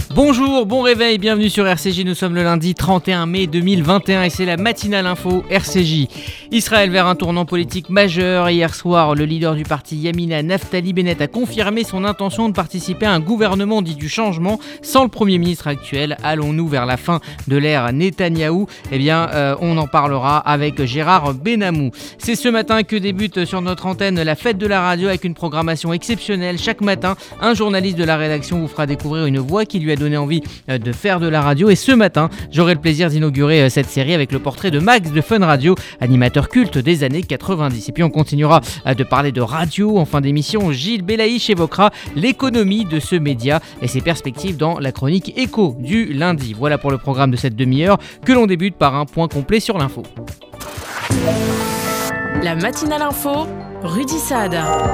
Bonjour, bon réveil, bienvenue sur RCJ, nous sommes le lundi 31 mai 2021 et c'est la matinale info RCJ. Israël vers un tournant politique majeur. Hier soir, le leader du parti Yamina, Naftali Bennett, a confirmé son intention de participer à un gouvernement dit du changement sans le Premier ministre actuel. Allons-nous vers la fin de l'ère Netanyahou ? On en parlera avec Gérard Benamou. C'est ce matin que débute sur notre antenne la fête de la radio avec une programmation exceptionnelle. Chaque matin, un journaliste de la rédaction vous fera découvrir une voix qui lui a donné envie de faire de la radio. Et ce matin, j'aurai le plaisir d'inaugurer cette série avec le portrait de Max de Fun Radio, animateur culte des années 90. Et puis on continuera de parler de radio. En fin d'émission, Gilles Belaïch évoquera l'économie de ce média et ses perspectives dans la chronique Écho du lundi. Voilà pour le programme de cette demi-heure que l'on débute par un point complet sur l'info. La matinale info, Rudy Saad.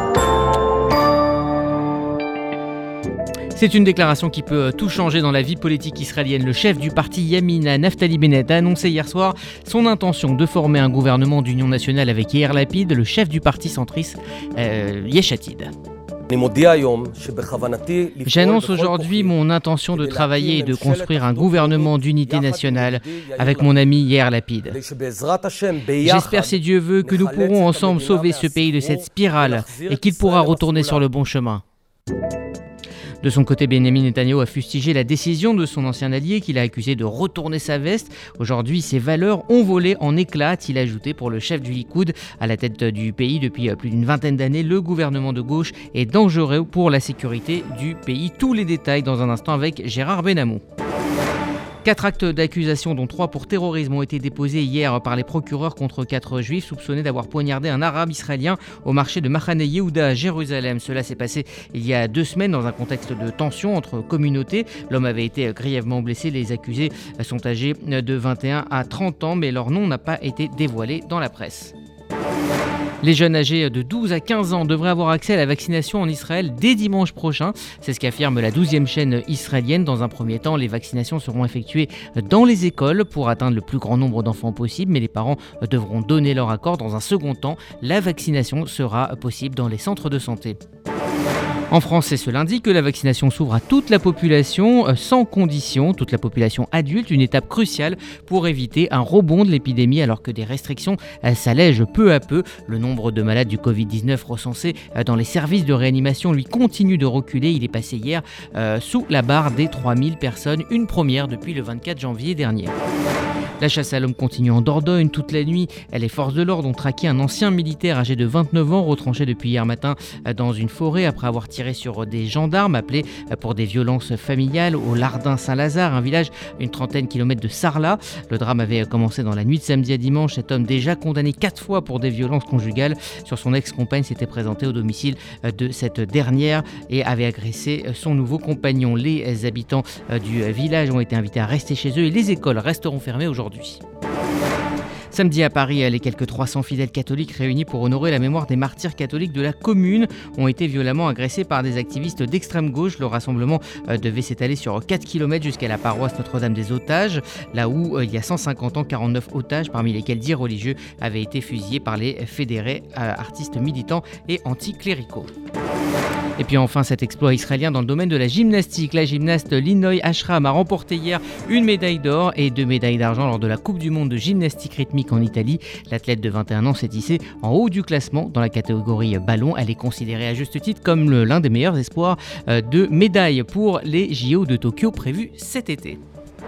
C'est une déclaration qui peut tout changer dans la vie politique israélienne. Le chef du parti Yamina, Naftali Bennett, a annoncé hier soir son intention de former un gouvernement d'union nationale avec Yair Lapid, le chef du parti centriste Yesh Atid. J'annonce aujourd'hui mon intention de travailler et de construire un gouvernement d'unité nationale avec mon ami Yair Lapid. J'espère, si Dieu veut, que nous pourrons ensemble sauver ce pays de cette spirale et qu'il pourra retourner sur le bon chemin. De son côté, Benjamin Netanyahou a fustigé la décision de son ancien allié qu'il a accusé de retourner sa veste. Aujourd'hui, ses valeurs ont volé en éclats, a-t-il ajouté. Pour le chef du Likoud, à la tête du pays depuis plus d'une vingtaine d'années, le gouvernement de gauche est dangereux pour la sécurité du pays. Tous les détails dans un instant avec Gérard Benamou. 4 actes d'accusation, dont 3 pour terrorisme, ont été déposés hier par les procureurs contre 4 juifs soupçonnés d'avoir poignardé un arabe israélien au marché de Machane Yehuda à Jérusalem. Cela s'est passé il y a 2 semaines dans un contexte de tension entre communautés. L'homme avait été grièvement blessé. Les accusés sont âgés de 21 à 30 ans, mais leur nom n'a pas été dévoilé dans la presse. Les jeunes âgés de 12 à 15 ans devraient avoir accès à la vaccination en Israël dès dimanche prochain. C'est ce qu'affirme la 12e chaîne israélienne. Dans un premier temps, les vaccinations seront effectuées dans les écoles pour atteindre le plus grand nombre d'enfants possible, mais les parents devront donner leur accord. Dans un second temps, la vaccination sera possible dans les centres de santé. En France, c'est ce lundi que la vaccination s'ouvre à toute la population, sans condition, toute la population adulte, une étape cruciale pour éviter un rebond de l'épidémie alors que des restrictions s'allègent peu à peu. Le nombre de malades du Covid-19 recensés dans les services de réanimation lui continue de reculer. Il est passé hier sous la barre des 3000 personnes, une première depuis le 24 janvier dernier. La chasse à l'homme continue en Dordogne toute la nuit. Les forces de l'ordre ont traqué un ancien militaire âgé de 29 ans retranché depuis hier matin dans une forêt après avoir tiré sur des gendarmes appelés pour des violences familiales au Lardin Saint-Lazare, un village une 30aine kilomètres de Sarlat. Le drame avait commencé dans la nuit de samedi à dimanche. Cet homme, déjà condamné 4 fois pour des violences conjugales sur son ex-compagne, s'était présenté au domicile de cette dernière et avait agressé son nouveau compagnon. Les habitants du village ont été invités à rester chez eux et les écoles resteront fermées aujourd'hui. Samedi à Paris, les quelques 300 fidèles catholiques réunis pour honorer la mémoire des martyrs catholiques de la commune ont été violemment agressés par des activistes d'extrême gauche. Le rassemblement devait s'étaler sur 4 km jusqu'à la paroisse Notre-Dame des Otages, là où il y a 150 ans, 49 otages, parmi lesquels 10 religieux, avaient été fusillés par les fédérés artistes militants et anticléricaux. Et puis enfin, cet exploit israélien dans le domaine de la gymnastique. La gymnaste Linoy Ashram a remporté hier une médaille d'or et 2 médailles d'argent lors de la Coupe du monde de gymnastique rythmique en Italie. L'athlète de 21 ans s'est hissée en haut du classement dans la catégorie ballon. Elle est considérée à juste titre comme l'un des meilleurs espoirs de médailles pour les JO de Tokyo prévus cet été.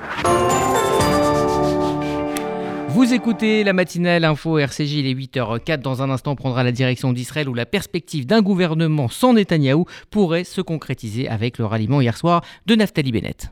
Vous écoutez la matinale info RCJ, il est 8h04. Dans un instant, on prendra la direction d'Israël où la perspective d'un gouvernement sans Netanyahou pourrait se concrétiser avec le ralliement hier soir de Naftali Bennett.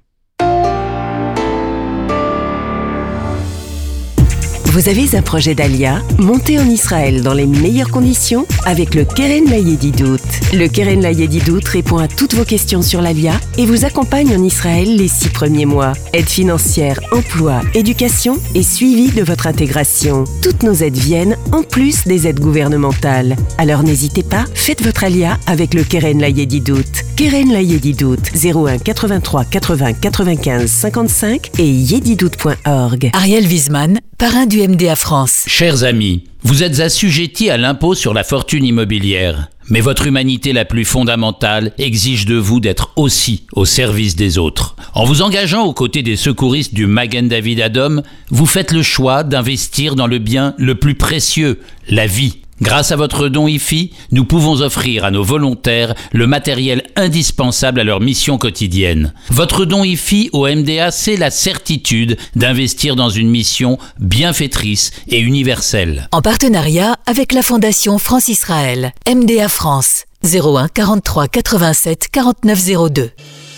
Vous avez un projet d'Alia? Montez en Israël dans les meilleures conditions avec le Keren Layedidout. Le Keren Layedidout répond à toutes vos questions sur l'Alia et vous accompagne en Israël les 6 premiers mois. Aide financière, emploi, éducation et suivi de votre intégration. Toutes nos aides viennent en plus des aides gouvernementales. Alors n'hésitez pas, faites votre Alia avec le Keren Layedidout. Keren Layedidout 01 83 80 95 55 et yedidout.org. Ariel Wiesman, parrain du MDA France. Chers amis, vous êtes assujettis à l'impôt sur la fortune immobilière. Mais votre humanité la plus fondamentale exige de vous d'être aussi au service des autres. En vous engageant aux côtés des secouristes du Magen David Adom, vous faites le choix d'investir dans le bien le plus précieux, la vie. Grâce à votre don IFI, nous pouvons offrir à nos volontaires le matériel indispensable à leur mission quotidienne. Votre don IFI au MDA, c'est la certitude d'investir dans une mission bienfaitrice et universelle. En partenariat avec la Fondation France-Israël, MDA France, 01 43 87 49 02.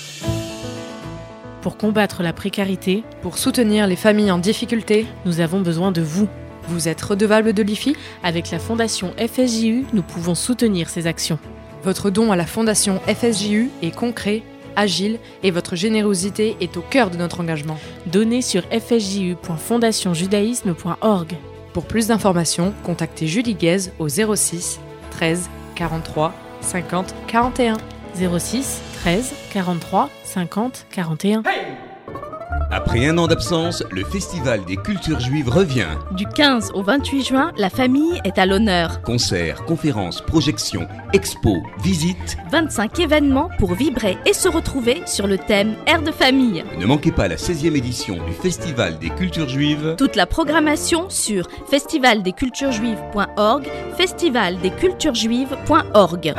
Pour combattre la précarité, pour soutenir les familles en difficulté, nous avons besoin de vous. Vous êtes redevable de l'IFI ? Avec la Fondation FSJU, nous pouvons soutenir ces actions. Votre don à la Fondation FSJU est concret, agile et votre générosité est au cœur de notre engagement. Donnez sur fsju.fondationjudaïsme.org. Pour plus d'informations, contactez Julie Guez au 06 13 43 50 41. 06 13 43 50 41. Hey! Après un an d'absence, le Festival des cultures juives revient. Du 15 au 28 juin, la famille est à l'honneur. Concerts, conférences, projections, expos, visites. 25 événements pour vibrer et se retrouver sur le thème Air de famille. Ne manquez pas la 16e édition du Festival des cultures juives. Toute la programmation sur festivaldesculturesjuives.org, festivaldesculturesjuives.org.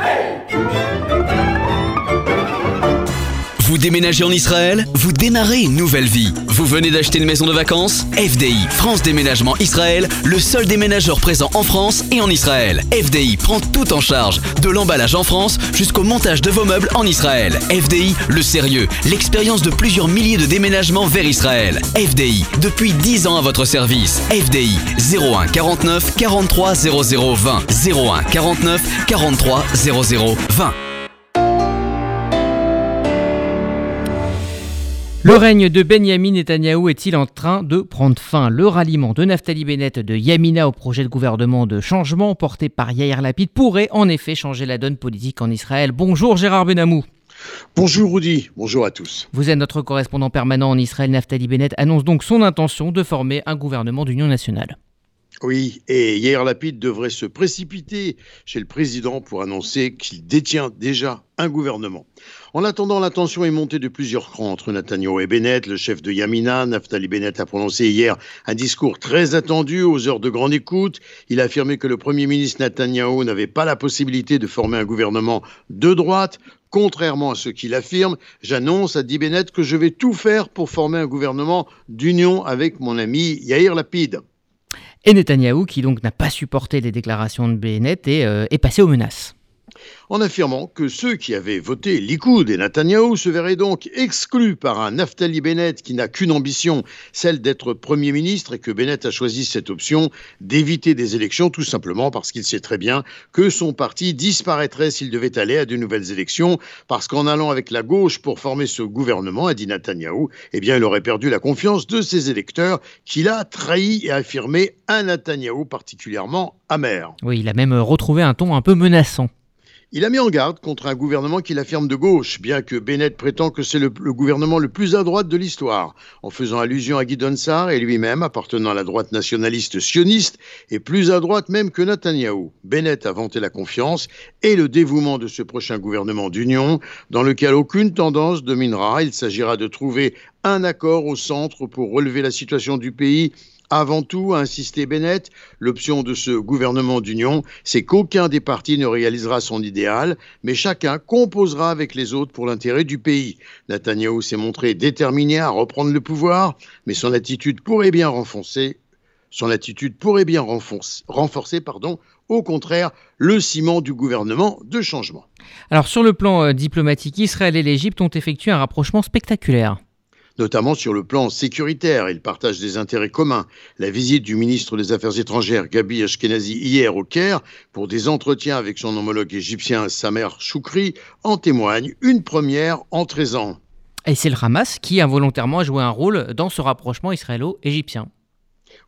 Vous déménagez en Israël ? Vous démarrez une nouvelle vie. Vous venez d'acheter une maison de vacances ? FDI, France Déménagement Israël, le seul déménageur présent en France et en Israël. FDI prend tout en charge, de l'emballage en France jusqu'au montage de vos meubles en Israël. FDI, le sérieux, l'expérience de plusieurs milliers de déménagements vers Israël. FDI, depuis 10 ans à votre service. FDI, 01 49 43 00 20. 01 49 43 00 20. Le règne de Benyamin Netanyahou est-il en train de prendre fin ? Le ralliement de Naftali Bennett de Yamina au projet de gouvernement de changement porté par Yair Lapid pourrait en effet changer la donne politique en Israël. Bonjour Gérard Benamou. Bonjour Rudy, bonjour à tous. Vous êtes notre correspondant permanent en Israël. Naftali Bennett annonce donc son intention de former un gouvernement d'union nationale. Oui, et Yair Lapid devrait se précipiter chez le président pour annoncer qu'il détient déjà un gouvernement. En attendant, la tension est montée de plusieurs crans entre Netanyahou et Bennett, le chef de Yamina. Naftali Bennett a prononcé hier un discours très attendu aux heures de grande écoute. Il a affirmé que le Premier ministre Netanyahou n'avait pas la possibilité de former un gouvernement de droite. Contrairement à ce qu'il affirme, j'annonce, a dit Bennett, que je vais tout faire pour former un gouvernement d'union avec mon ami Yair Lapid. Et Netanyahou, qui donc n'a pas supporté les déclarations de Bennett, est passé aux menaces. En affirmant que ceux qui avaient voté Likoud et Netanyahou se verraient donc exclus par un Naftali Bennett qui n'a qu'une ambition, celle d'être Premier ministre, et que Bennett a choisi cette option d'éviter des élections tout simplement parce qu'il sait très bien que son parti disparaîtrait s'il devait aller à de nouvelles élections, parce qu'en allant avec la gauche pour former ce gouvernement, a dit Netanyahou, eh bien il aurait perdu la confiance de ses électeurs qu'il a trahi et affirmé un Netanyahou particulièrement amer. Oui, il a même retrouvé un ton un peu menaçant. Il a mis en garde contre un gouvernement qu'il affirme de gauche, bien que Bennett prétend que c'est le gouvernement le plus à droite de l'histoire, en faisant allusion à Gideon Sa'ar et lui-même, appartenant à la droite nationaliste sioniste, et plus à droite même que Netanyahou. Bennett a vanté la confiance et le dévouement de ce prochain gouvernement d'union, dans lequel aucune tendance dominera. Il s'agira de trouver un accord au centre pour relever la situation du pays. Avant tout, a insisté Bennett, l'option de ce gouvernement d'union, c'est qu'aucun des partis ne réalisera son idéal, mais chacun composera avec les autres pour l'intérêt du pays. Netanyahou s'est montré déterminé à reprendre le pouvoir, mais son attitude pourrait bien renforcer, au contraire, le ciment du gouvernement de changement. Alors sur le plan diplomatique, Israël et l'Égypte ont effectué un rapprochement spectaculaire. Notamment sur le plan sécuritaire. Ils partagent des intérêts communs. La visite du ministre des Affaires étrangères, Gabi Ashkenazi, hier au Caire, pour des entretiens avec son homologue égyptien, Samer Choukri, en témoigne, une première en 13 ans. Et c'est le Hamas qui involontairement a joué un rôle dans ce rapprochement israélo-égyptien.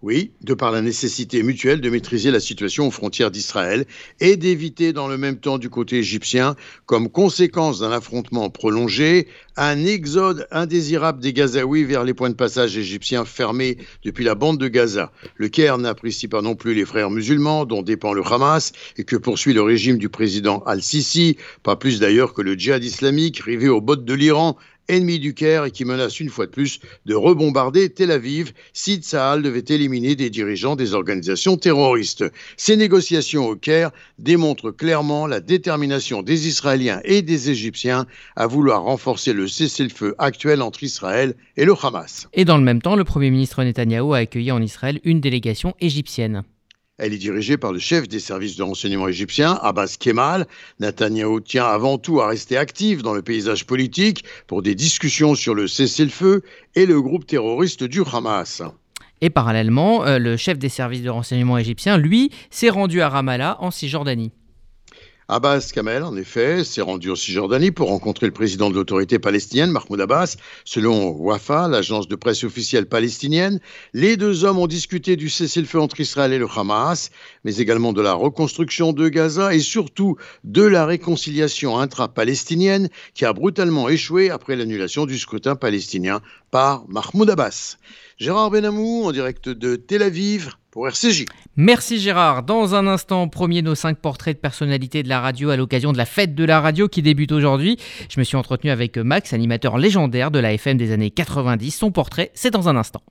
Oui, de par la nécessité mutuelle de maîtriser la situation aux frontières d'Israël et d'éviter dans le même temps du côté égyptien, comme conséquence d'un affrontement prolongé, un exode indésirable des Gazaouis vers les points de passage égyptiens fermés depuis la bande de Gaza. Le Caire n'apprécie pas non plus les frères musulmans dont dépend le Hamas et que poursuit le régime du président Al-Sisi, pas plus d'ailleurs que le djihad islamique rivé aux bottes de l'Iran, ennemi du Caire et qui menace une fois de plus de rebombarder Tel Aviv si Tsahal devait éliminer des dirigeants des organisations terroristes. Ces négociations au Caire démontrent clairement la détermination des Israéliens et des Égyptiens à vouloir renforcer le cessez-le-feu actuel entre Israël et le Hamas. Et dans le même temps, le Premier ministre Netanyahou a accueilli en Israël une délégation égyptienne. Elle est dirigée par le chef des services de renseignement égyptien, Abbas Kemal. Netanyahou tient avant tout à rester actif dans le paysage politique pour des discussions sur le cessez-le-feu et le groupe terroriste du Hamas. Et parallèlement, le chef des services de renseignement égyptien, lui, s'est rendu à Ramallah, en Cisjordanie. Abbas Kamel, en effet, s'est rendu en Cisjordanie pour rencontrer le président de l'autorité palestinienne, Mahmoud Abbas. Selon Wafa, l'agence de presse officielle palestinienne, les deux hommes ont discuté du cessez-le-feu entre Israël et le Hamas, mais également de la reconstruction de Gaza et surtout de la réconciliation intra-palestinienne qui a brutalement échoué après l'annulation du scrutin palestinien par Mahmoud Abbas. Gérard Benamou, en direct de Tel Aviv, pour RCJ. Merci Gérard. Dans un instant, premier de nos 5 portraits de personnalités de la radio à l'occasion de la fête de la radio qui débute aujourd'hui. Je me suis entretenu avec Max, animateur légendaire de la FM des années 90. Son portrait, c'est dans un instant.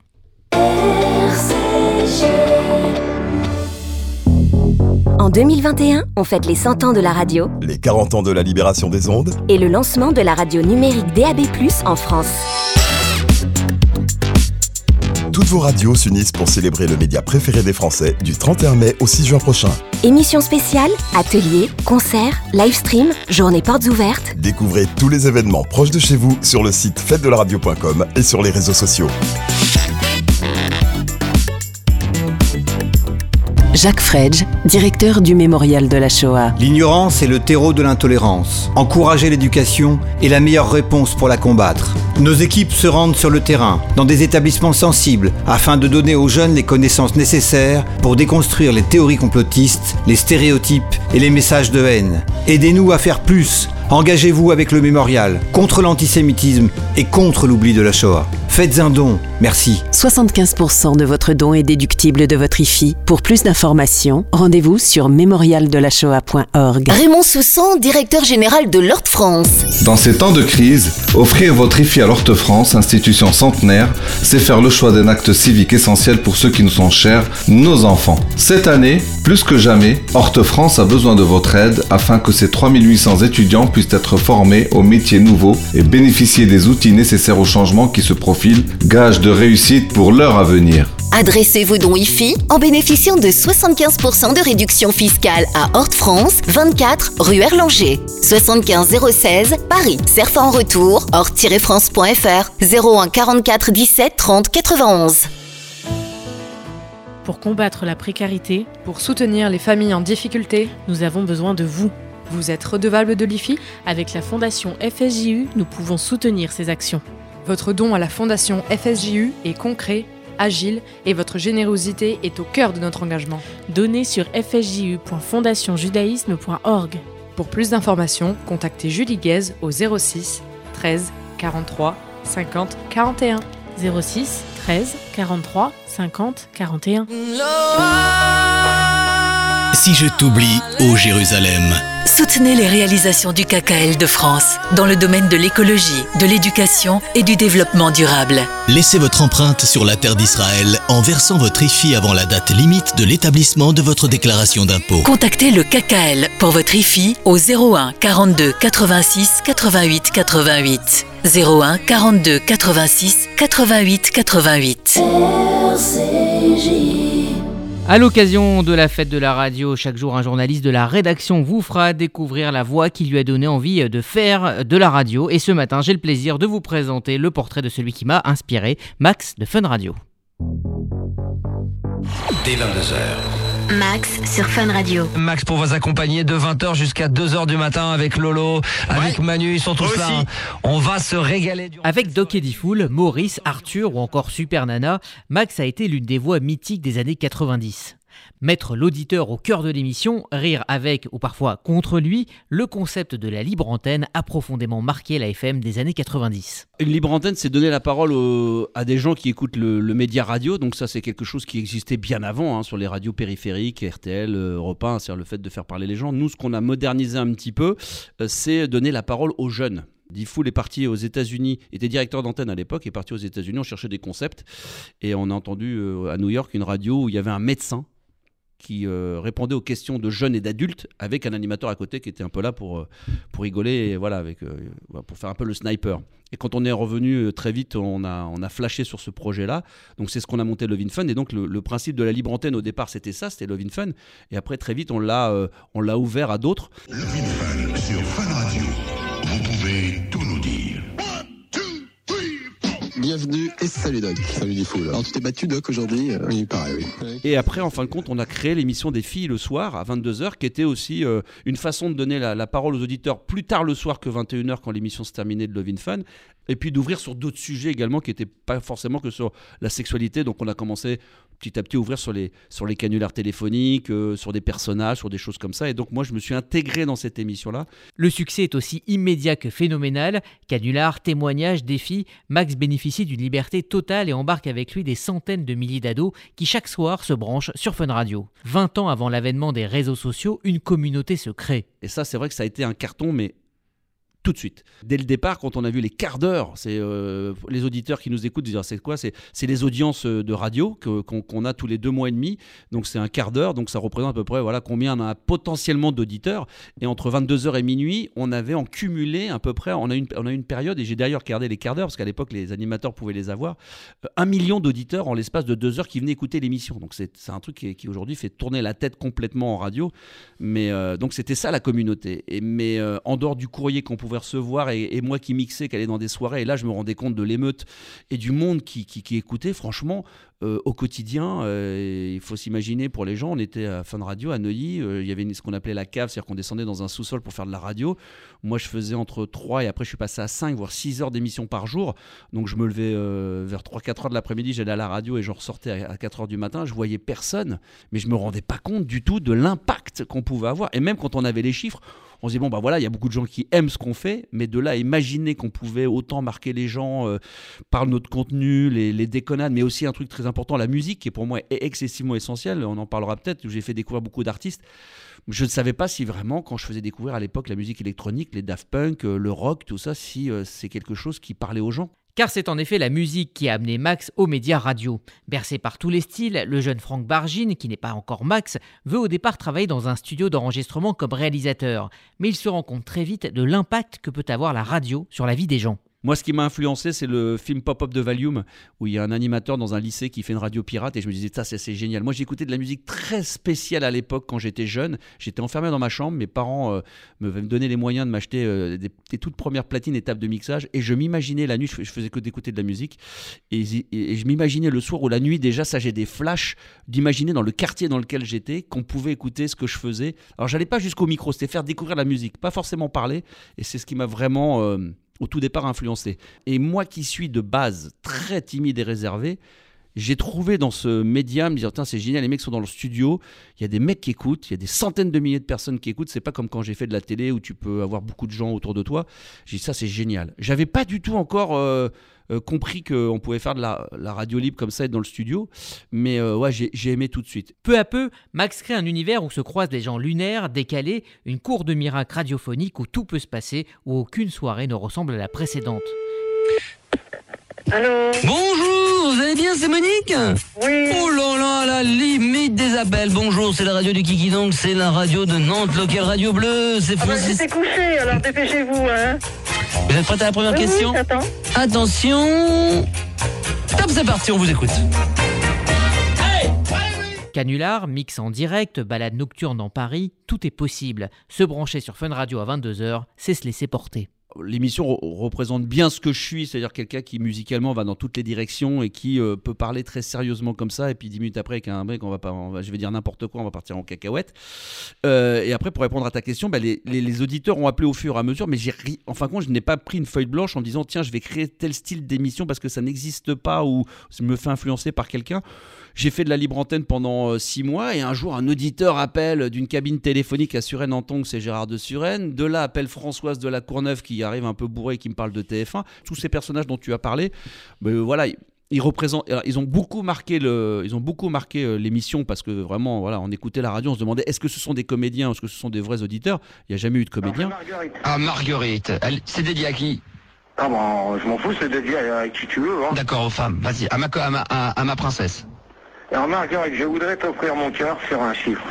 RCJ. En 2021, on fête les 100 ans de la radio, les 40 ans de la libération des ondes et le lancement de la radio numérique DAB+, en France. Toutes vos radios s'unissent pour célébrer le média préféré des Français du 31 mai au 6 juin prochain. Émissions spéciales, ateliers, concerts, live stream, journées portes ouvertes. Découvrez tous les événements proches de chez vous sur le site fêtedelaradio.com et sur les réseaux sociaux. Jacques Fredge, directeur du Mémorial de la Shoah. L'ignorance est le terreau de l'intolérance. Encourager l'éducation est la meilleure réponse pour la combattre. Nos équipes se rendent sur le terrain, dans des établissements sensibles, afin de donner aux jeunes les connaissances nécessaires pour déconstruire les théories complotistes, les stéréotypes et les messages de haine. Aidez-nous à faire plus. Engagez-vous avec le Mémorial, contre l'antisémitisme et contre l'oubli de la Shoah. Faites un don, merci. 75% de votre don est déductible de votre IFI. Pour plus d'informations, rendez-vous sur mémorialdelashoah.org. Raymond Soussan, directeur général de l'Horte-France. Dans ces temps de crise, offrir votre IFI à l'Horte-France, institution centenaire, c'est faire le choix d'un acte civique essentiel pour ceux qui nous sont chers, nos enfants. Cette année, plus que jamais, Horte-France a besoin de votre aide afin que ces 3800 étudiants puissent être formés aux métiers nouveaux et bénéficier des outils nécessaires au changement qui se profilent, gage de réussite pour leur avenir. Adressez vos dons IFI en bénéficiant de 75% de réduction fiscale à Horte-France, 24 rue Erlanger. 75 016 Paris. Cerf en retour, horte-france.fr, 01 44 17 30 91. Pour combattre la précarité, pour soutenir les familles en difficulté, nous avons besoin de vous. Vous êtes redevable de l'IFI ? Avec la Fondation FSJU, nous pouvons soutenir ces actions. Votre don à la Fondation FSJU est concret, agile et votre générosité est au cœur de notre engagement. Donnez sur fsju.fondationjudaïsme.org. Pour plus d'informations, contactez Julie Guez au 06 13 43 50 41. 06 13 43 50 41. Si je t'oublie, ô Jérusalem. Soutenez les réalisations du KKL de France dans le domaine de l'écologie, de l'éducation et du développement durable. Laissez votre empreinte sur la terre d'Israël en versant votre IFI avant la date limite de l'établissement de votre déclaration d'impôt. Contactez le KKL pour votre IFI au 01 42 86 88 88. 01 42 86 88 88. À l'occasion de la fête de la radio, chaque jour un journaliste de la rédaction vous fera découvrir la voix qui lui a donné envie de faire de la radio. Et ce matin, j'ai le plaisir de vous présenter le portrait de celui qui m'a inspiré, Max de Fun Radio. Dès 22h, Max sur Fun Radio. Max pour vous accompagner de 20h jusqu'à 2h du matin avec Lolo, avec Manu, ils sont tous là. On va se régaler. Avec Doc Eddie Fool, Maurice, Arthur ou encore Super Nana, Max a été l'une des voix mythiques des années 90. Mettre l'auditeur au cœur de l'émission, rire avec ou parfois contre lui, le concept de la libre antenne a profondément marqué la FM des années 90. Une libre antenne, c'est donner la parole à des gens qui écoutent le média radio, donc ça c'est quelque chose qui existait bien avant, sur les radios périphériques, RTL, Europe 1, c'est-à-dire le fait de faire parler les gens. Nous, ce qu'on a modernisé un petit peu, c'est donner la parole aux jeunes. Diffoul est parti aux États-Unis, était directeur d'antenne à l'époque, est parti aux États-Unis, on cherchait des concepts, et on a entendu à New York une radio où il y avait un médecin qui répondait aux questions de jeunes et d'adultes avec un animateur à côté qui était un peu là pour rigoler et voilà, pour faire un peu le sniper. Et quand on est revenu très vite, on a flashé sur ce projet-là. Donc c'est ce qu'on a monté Love in Fun. Et donc le principe de la libre antenne au départ, c'était ça, c'était Love in Fun. Et après très vite, on l'a ouvert à d'autres. Love in Fun sur Fun Radio. Vous pouvez tout nous dire. Bienvenue et salut Doc. Salut Diffoul. Alors tu t'es battu Doc aujourd'hui Oui, pareil, oui. Et après, en fin de compte, on a créé l'émission des filles le soir à 22h, qui était aussi une façon de donner la parole aux auditeurs plus tard le soir que 21h quand l'émission se terminait de Love in Fun, et puis d'ouvrir sur d'autres sujets également qui n'étaient pas forcément que sur la sexualité. Donc on a commencé petit à petit à ouvrir sur les canulars téléphoniques, sur des personnages, sur des choses comme ça. Et donc moi, je me suis intégré dans cette émission-là. Le succès est aussi immédiat que phénoménal. Canulars, témoignages, défis, Max bénéficie d'une liberté totale et embarque avec lui des centaines de milliers d'ados qui chaque soir se branchent sur Fun Radio. 20 ans avant l'avènement des réseaux sociaux, une communauté se crée. Et ça, c'est vrai que ça a été un carton, mais tout de suite. Dès le départ, quand on a vu les quarts d'heure, c'est les auditeurs qui nous écoutent dire c'est quoi ? C'est les audiences de radio qu'on a tous les 2 mois et demi. Donc c'est un quart d'heure, donc ça représente à peu près combien on a potentiellement d'auditeurs. Et entre 22h et minuit, on avait en cumulé à peu près, on a une période, et j'ai d'ailleurs regardé les quarts d'heure, parce qu'à l'époque les animateurs pouvaient les avoir, 1 million d'auditeurs en l'espace de 2 heures qui venaient écouter l'émission. Donc c'est un truc qui aujourd'hui fait tourner la tête complètement en radio. Mais donc c'était ça la communauté. Mais en dehors du courrier qu'on pouvait recevoir et moi qui mixais, qui allait dans des soirées, et là je me rendais compte de l'émeute et du monde qui écoutait. Franchement, au quotidien, il faut s'imaginer, pour les gens, on était à Fun Radio à Neuilly, il y avait ce qu'on appelait la cave, c'est-à-dire qu'on descendait dans un sous-sol pour faire de la radio. Moi je faisais entre 3 et après je suis passé à 5 voire 6 heures d'émission par jour, donc je me levais vers 3-4 heures de l'après-midi, j'allais à la radio et je ressortais à 4 heures du matin. Je voyais personne, mais je me rendais pas compte du tout de l'impact qu'on pouvait avoir. Et même quand on avait les chiffres, on se dit il y a beaucoup de gens qui aiment ce qu'on fait, mais de là à imaginer qu'on pouvait autant marquer les gens par notre contenu, les déconnades, mais aussi un truc très important, la musique, qui pour moi est excessivement essentielle. On en parlera peut-être, où j'ai fait découvrir beaucoup d'artistes. Je ne savais pas si vraiment, quand je faisais découvrir à l'époque la musique électronique, les Daft Punk, le rock, tout ça, si c'est quelque chose qui parlait aux gens. Car c'est en effet la musique qui a amené Max aux médias radio. Bercé par tous les styles, le jeune Franck Bargine, qui n'est pas encore Max, veut au départ travailler dans un studio d'enregistrement comme réalisateur. Mais il se rend compte très vite de l'impact que peut avoir la radio sur la vie des gens. Moi, ce qui m'a influencé, c'est le film Pop-Up de Valium, où il y a un animateur dans un lycée qui fait une radio pirate, et je me disais, ça, c'est génial. Moi, j'écoutais de la musique très spéciale à l'époque quand j'étais jeune. J'étais enfermé dans ma chambre, mes parents me donnaient les moyens de m'acheter des toutes premières platines et tables de mixage, et je m'imaginais la nuit, je faisais que d'écouter de la musique, et je m'imaginais le soir ou la nuit, déjà, ça, j'ai des flashs d'imaginer dans le quartier dans lequel j'étais, qu'on pouvait écouter ce que je faisais. Alors, j'allais pas jusqu'au micro, c'était faire découvrir la musique, pas forcément parler, et c'est ce qui m'a vraiment... au tout départ influencé. Et moi qui suis de base très timide et réservé, j'ai trouvé dans ce média, me dire, c'est génial, les mecs sont dans le studio, il y a des mecs qui écoutent, il y a des centaines de milliers de personnes qui écoutent, c'est pas comme quand j'ai fait de la télé où tu peux avoir beaucoup de gens autour de toi. J'ai dit, ça c'est génial. J'avais pas du tout encore compris qu'on pouvait faire de la radio libre comme ça, être dans le studio, mais j'ai aimé tout de suite. Peu à peu, Max crée un univers où se croisent des gens lunaires, décalés, une cour de miracles radiophoniques où tout peut se passer, où aucune soirée ne ressemble à la précédente. Allô ? Bonjour, vous allez bien, c'est Monique ? Oui. Oh là là, la limite des appels. Bonjour, c'est la radio du Kiki, donc c'est la radio de Nantes, Local Radio Bleu. C'est Francis. J'étais couché, alors dépêchez-vous, hein. Vous êtes prête à la première question ? Oui, j'attends. Attention. Top, c'est parti, on vous écoute. Canular, mix en direct, balade nocturne dans Paris, tout est possible. Se brancher sur Fun Radio à 22h, c'est se laisser porter. l'émission représente bien ce que je suis, c'est-à-dire quelqu'un qui musicalement va dans toutes les directions et qui peut parler très sérieusement comme ça, et puis 10 minutes après avec un mec, je vais dire n'importe quoi, on va partir en cacahuète. Et après, pour répondre à ta question, les auditeurs ont appelé au fur et à mesure, mais en fin de compte, je n'ai pas pris une feuille blanche en me disant tiens, je vais créer tel style d'émission parce que ça n'existe pas ou je me fais influencer par quelqu'un. J'ai fait de la libre antenne pendant 6 mois et un jour un auditeur appelle d'une cabine téléphonique à Suresnes-en-Tongue, c'est Gérard de Suresnes. De là appelle Françoise de la Courneuve qui arrive un peu bourrée et qui me parle de TF1. Tous ces personnages dont tu as parlé, voilà, ils représentent. Alors, ils ont beaucoup marqué l'émission parce que vraiment, voilà, on écoutait la radio, on se demandait est-ce que ce sont des comédiens ou est-ce que ce sont des vrais auditeurs. Il n'y a jamais eu de comédiens. Marguerite, c'est dédié à qui? Ah bon, je m'en fous, c'est dédié à qui tu veux. Hein. D'accord, aux femmes. Vas-y, à ma princesse. Alors Marguerite, je voudrais t'offrir mon cœur sur un chiffre.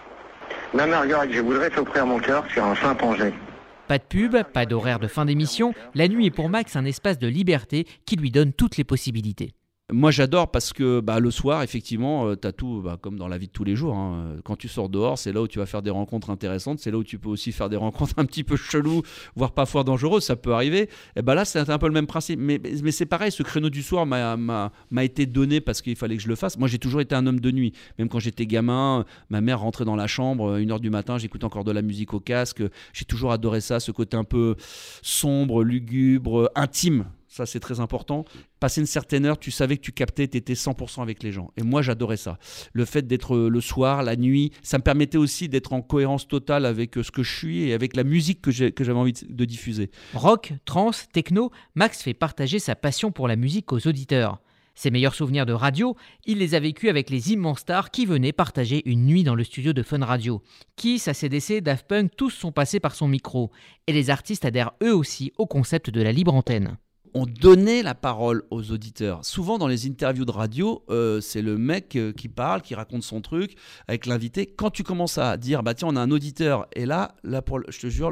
Ma Marguerite, je voudrais t'offrir mon cœur sur un chimpanzé. Pas de pub, pas d'horaire de fin d'émission. La nuit est pour Max un espace de liberté qui lui donne toutes les possibilités. Moi j'adore parce que le soir effectivement t'as tout comme dans la vie de tous les jours hein. Quand tu sors dehors c'est là où tu vas faire des rencontres intéressantes, c'est là où tu peux aussi faire des rencontres un petit peu cheloues, voire parfois dangereuses, ça peut arriver. Et là c'est un peu le même principe, mais c'est pareil, ce créneau du soir m'a été donné parce qu'il fallait que je le fasse. Moi j'ai toujours été un homme de nuit, même quand j'étais gamin, ma mère rentrait dans la chambre 1h du matin, j'écoutais encore de la musique au casque, j'ai toujours adoré ça, ce côté un peu sombre, lugubre, intime. Ça, c'est très important. Passer une certaine heure, tu savais que tu captais, tu étais 100% avec les gens. Et moi, j'adorais ça. Le fait d'être le soir, la nuit, ça me permettait aussi d'être en cohérence totale avec ce que je suis et avec la musique que j'avais envie de diffuser. Rock, trance, techno, Max fait partager sa passion pour la musique aux auditeurs. Ses meilleurs souvenirs de radio, il les a vécus avec les immenses stars qui venaient partager une nuit dans le studio de Fun Radio. Kiss, AC/DC, Daft Punk, tous sont passés par son micro. Et les artistes adhèrent eux aussi au concept de la libre antenne. On donnait la parole aux auditeurs. Souvent dans les interviews de radio, c'est le mec qui parle, qui raconte son truc avec l'invité. Quand tu commences à dire tiens, on a un auditeur, et là je te jure,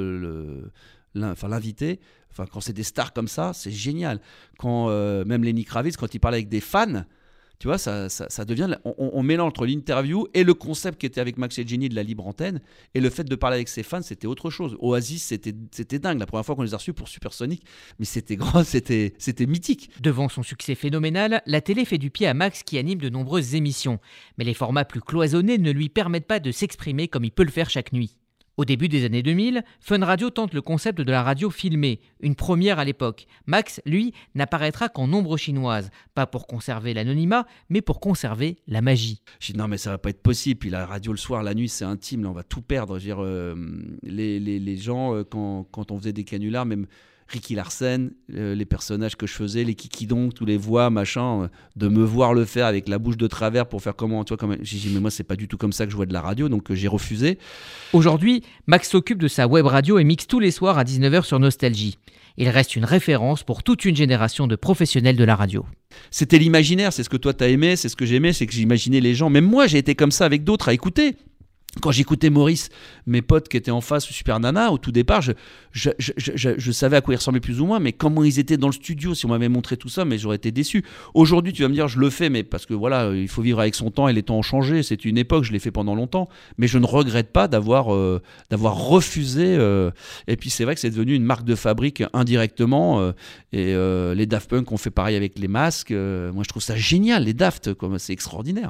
l'invité, quand c'est des stars comme ça, c'est génial. Quand même Lenny Kravitz, quand il parle avec des fans, tu vois, ça devient. On mélange entre l'interview et le concept qui était avec Max et Jenny de la libre antenne, et le fait de parler avec ses fans, c'était autre chose. Oasis, c'était dingue. La première fois qu'on les a reçus pour Supersonic, mais c'était grand, c'était mythique. Devant son succès phénoménal, la télé fait du pied à Max qui anime de nombreuses émissions. Mais les formats plus cloisonnés ne lui permettent pas de s'exprimer comme il peut le faire chaque nuit. Au début des années 2000, Fun Radio tente le concept de la radio filmée, une première à l'époque. Max, lui, n'apparaîtra qu'en ombre chinoise, pas pour conserver l'anonymat, mais pour conserver la magie. J'ai dit non mais ça va pas être possible, puis la radio le soir, la nuit c'est intime, là on va tout perdre. Je veux dire, les gens, quand on faisait des canulars, même Ricky Larsen, les personnages que je faisais, les kikidons, tous les voix, machin, de me voir le faire avec la bouche de travers pour faire comment, tu vois, j'ai dit mais moi c'est pas du tout comme ça que je vois de la radio, donc j'ai refusé. Aujourd'hui, Max s'occupe de sa web radio et mixe tous les soirs à 19h sur Nostalgie. Il reste une référence pour toute une génération de professionnels de la radio. C'était l'imaginaire, c'est ce que toi t'as aimé, c'est ce que j'aimais, c'est que j'imaginais les gens. Même moi j'ai été comme ça avec d'autres à écouter. Quand j'écoutais Maurice, mes potes qui étaient en face, Super Nana, au tout départ, je savais à quoi ils ressemblaient plus ou moins, mais comment ils étaient dans le studio, si on m'avait montré tout ça, mais j'aurais été déçu. Aujourd'hui, tu vas me dire, je le fais, mais parce que voilà, il faut vivre avec son temps et les temps ont changé. C'est une époque, je l'ai fait pendant longtemps, mais je ne regrette pas d'avoir refusé. Et puis c'est vrai que c'est devenu une marque de fabrique indirectement. Et les Daft Punk ont fait pareil avec les masques. Moi, je trouve ça génial, les Daft, c'est extraordinaire.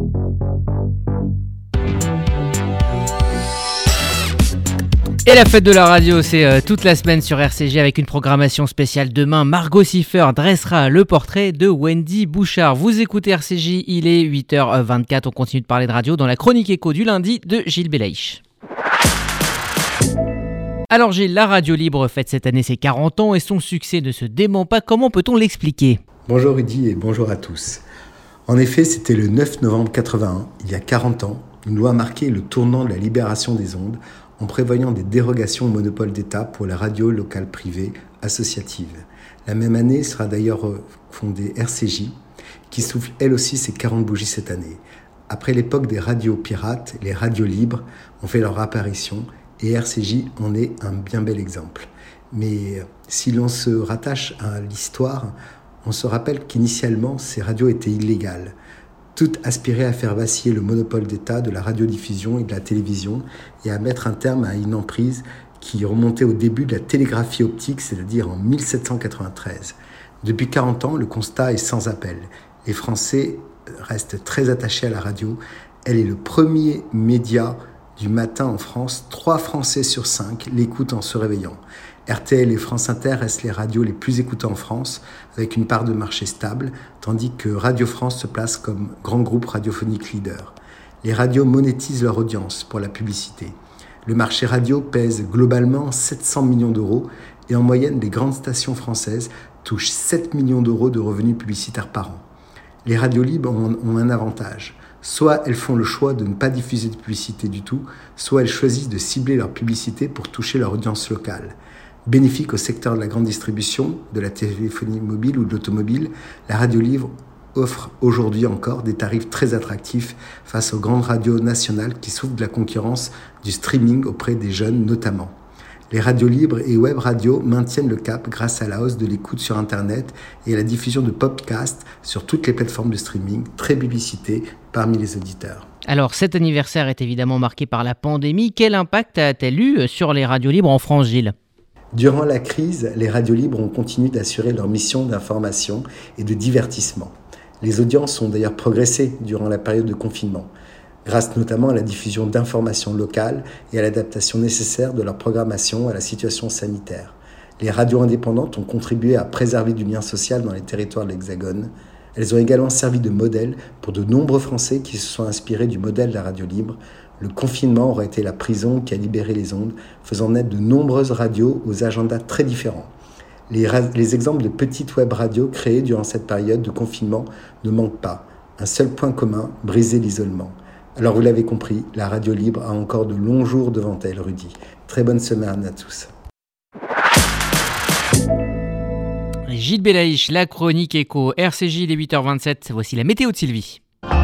Et la fête de la radio, c'est toute la semaine sur RCG avec une programmation spéciale. Demain, Margot Siffer dressera le portrait de Wendy Bouchard. Vous écoutez RCJ, il est 8h24. On continue de parler de radio dans la chronique écho du lundi de Gilles Belaïch. Alors Gilles, la radio libre fête cette année ses 40 ans et son succès ne se dément pas. Comment peut-on l'expliquer ? Bonjour Rudy et bonjour à tous. En effet, c'était le 9 novembre 81, il y a 40 ans, une loi marquait le tournant de la libération des ondes en prévoyant des dérogations au monopole d'État pour la radio locale privée associative. La même année sera d'ailleurs fondée RCJ, qui souffle elle aussi ses 40 bougies cette année. Après l'époque des radios pirates, les radios libres ont fait leur apparition et RCJ en est un bien bel exemple. Mais si l'on se rattache à l'histoire, on se rappelle qu'initialement ces radios étaient illégales. Toutes aspiraient à faire vaciller le monopole d'État de la radiodiffusion et de la télévision et à mettre un terme à une emprise qui remontait au début de la télégraphie optique, c'est-à-dire en 1793. Depuis 40 ans, le constat est sans appel. Les Français restent très attachés à la radio. Elle est le premier média du matin en France. 3 Français sur 5 l'écoutent en se réveillant. RTL et France Inter restent les radios les plus écoutées en France, avec une part de marché stable, tandis que Radio France se place comme grand groupe radiophonique leader. Les radios monétisent leur audience pour la publicité. Le marché radio pèse globalement 700 millions d'euros et en moyenne, les grandes stations françaises touchent 7 millions d'euros de revenus publicitaires par an. Les radios libres ont un avantage. Soit elles font le choix de ne pas diffuser de publicité du tout, soit elles choisissent de cibler leur publicité pour toucher leur audience locale. Bénéfique au secteur de la grande distribution, de la téléphonie mobile ou de l'automobile, la radio libre offre aujourd'hui encore des tarifs très attractifs face aux grandes radios nationales qui souffrent de la concurrence du streaming auprès des jeunes notamment. Les radios libres et web radios maintiennent le cap grâce à la hausse de l'écoute sur Internet et à la diffusion de podcasts sur toutes les plateformes de streaming, très publicité parmi les auditeurs. Alors, cet anniversaire est évidemment marqué par la pandémie. Quel impact a-t-elle eu sur les radios libres en France, Gilles ? Durant la crise, les radios libres ont continué d'assurer leur mission d'information et de divertissement. Les audiences ont d'ailleurs progressé durant la période de confinement, grâce notamment à la diffusion d'informations locales et à l'adaptation nécessaire de leur programmation à la situation sanitaire. Les radios indépendantes ont contribué à préserver du lien social dans les territoires de l'Hexagone. Elles ont également servi de modèle pour de nombreux Français qui se sont inspirés du modèle de la radio libre. Le confinement aurait été la prison qui a libéré les ondes, faisant naître de nombreuses radios aux agendas très différents. Les exemples de petites web radios créées durant cette période de confinement ne manquent pas. Un seul point commun, briser l'isolement. Alors vous l'avez compris, la radio libre a encore de longs jours devant elle, Rudy. Très bonne semaine à tous. Gilles Belaïch, la chronique éco, RCJ, les 8h27. Voici la météo de Sylvie.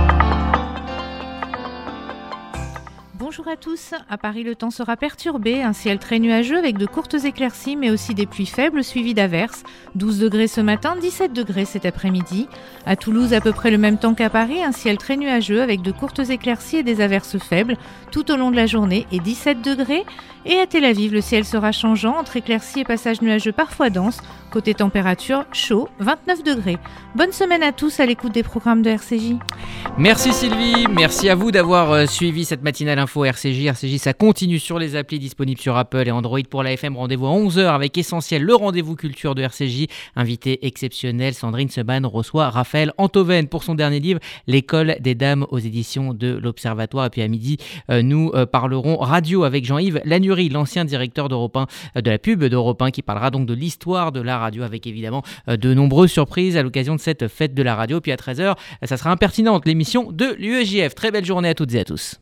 Bonjour à tous. À Paris, le temps sera perturbé, un ciel très nuageux avec de courtes éclaircies mais aussi des pluies faibles suivies d'averses. 12 degrés ce matin, 17 degrés cet après-midi. À Toulouse, à peu près le même temps qu'à Paris, un ciel très nuageux avec de courtes éclaircies et des averses faibles tout au long de la journée et 17 degrés. Et à Tel Aviv, le ciel sera changeant entre éclaircies et passages nuageux parfois denses. Côté température, chaud, 29 degrés. Bonne semaine à tous à l'écoute des programmes de RCJ. Merci Sylvie, merci à vous d'avoir suivi cette matinale info RCJ. RCJ, ça continue sur les applis disponibles sur Apple et Android. Pour la FM, rendez-vous à 11h avec Essentiel, le rendez-vous culture de RCJ. Invité exceptionnel, Sandrine Seban reçoit Raphaël Antoven pour son dernier livre, L'école des dames aux éditions de l'Observatoire. Et puis à midi, nous parlerons radio avec Jean-Yves Lanurie, l'ancien directeur d'Europe 1, de la pub d'Europe 1, qui parlera donc de l'histoire de la radio avec évidemment de nombreuses surprises à l'occasion de cette fête de la radio. Puis à 13h, ça sera Impertinente, l'émission de l'UEJF. Très belle journée à toutes et à tous.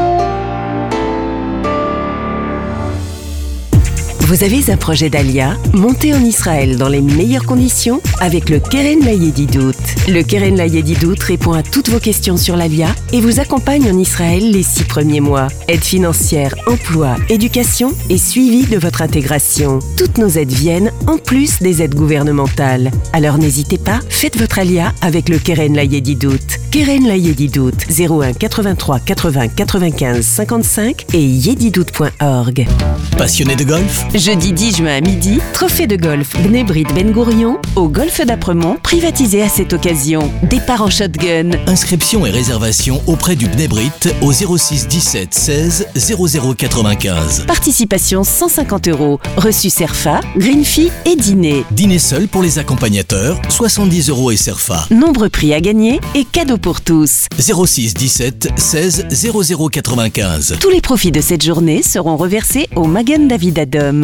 Vous avez un projet d'Alia? Montez en Israël dans les meilleures conditions avec le Keren Layedidout. Le Keren Layedidout répond à toutes vos questions sur l'Alia et vous accompagne en Israël les 6 premiers mois. Aide financière, emploi, éducation et suivi de votre intégration. Toutes nos aides viennent en plus des aides gouvernementales. Alors n'hésitez pas, faites votre Alia avec le Keren Layedidout. Keren Layedidout, 01 83 80 95 55 et yedidout.org. Passionné de golf? Jeudi 10 juin à midi, trophée de golf Bnei Brit Ben Gourion au golfe d'Apremont, privatisé à cette occasion. Départ en shotgun. Inscription et réservation auprès du Bnei Brit au 06 17 16 00 95. Participation 150 €. Reçu Cerfa, green fee et dîner. Dîner seul pour les accompagnateurs, 70 € et Cerfa. Nombreux prix à gagner et cadeaux pour tous. 06 17 16 00 95. Tous les profits de cette journée seront reversés au Magen David Adom.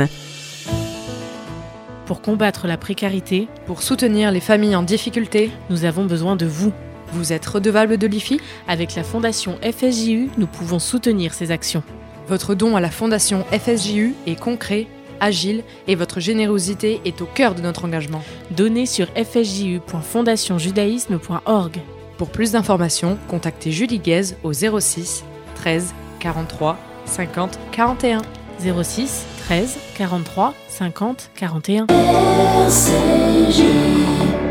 Pour combattre la précarité, pour soutenir les familles en difficulté, nous avons besoin de vous. Vous êtes redevable de l'IFI? Avec la fondation FSJU, nous pouvons soutenir ces actions. Votre don à la fondation FSJU est concret, agile et votre générosité est au cœur de notre engagement. Donnez sur fsju.fondationjudaïsme.org. Pour plus d'informations, contactez Julie Guez au 06 13 43 50 41. 06 13 43 50 41. RCJ.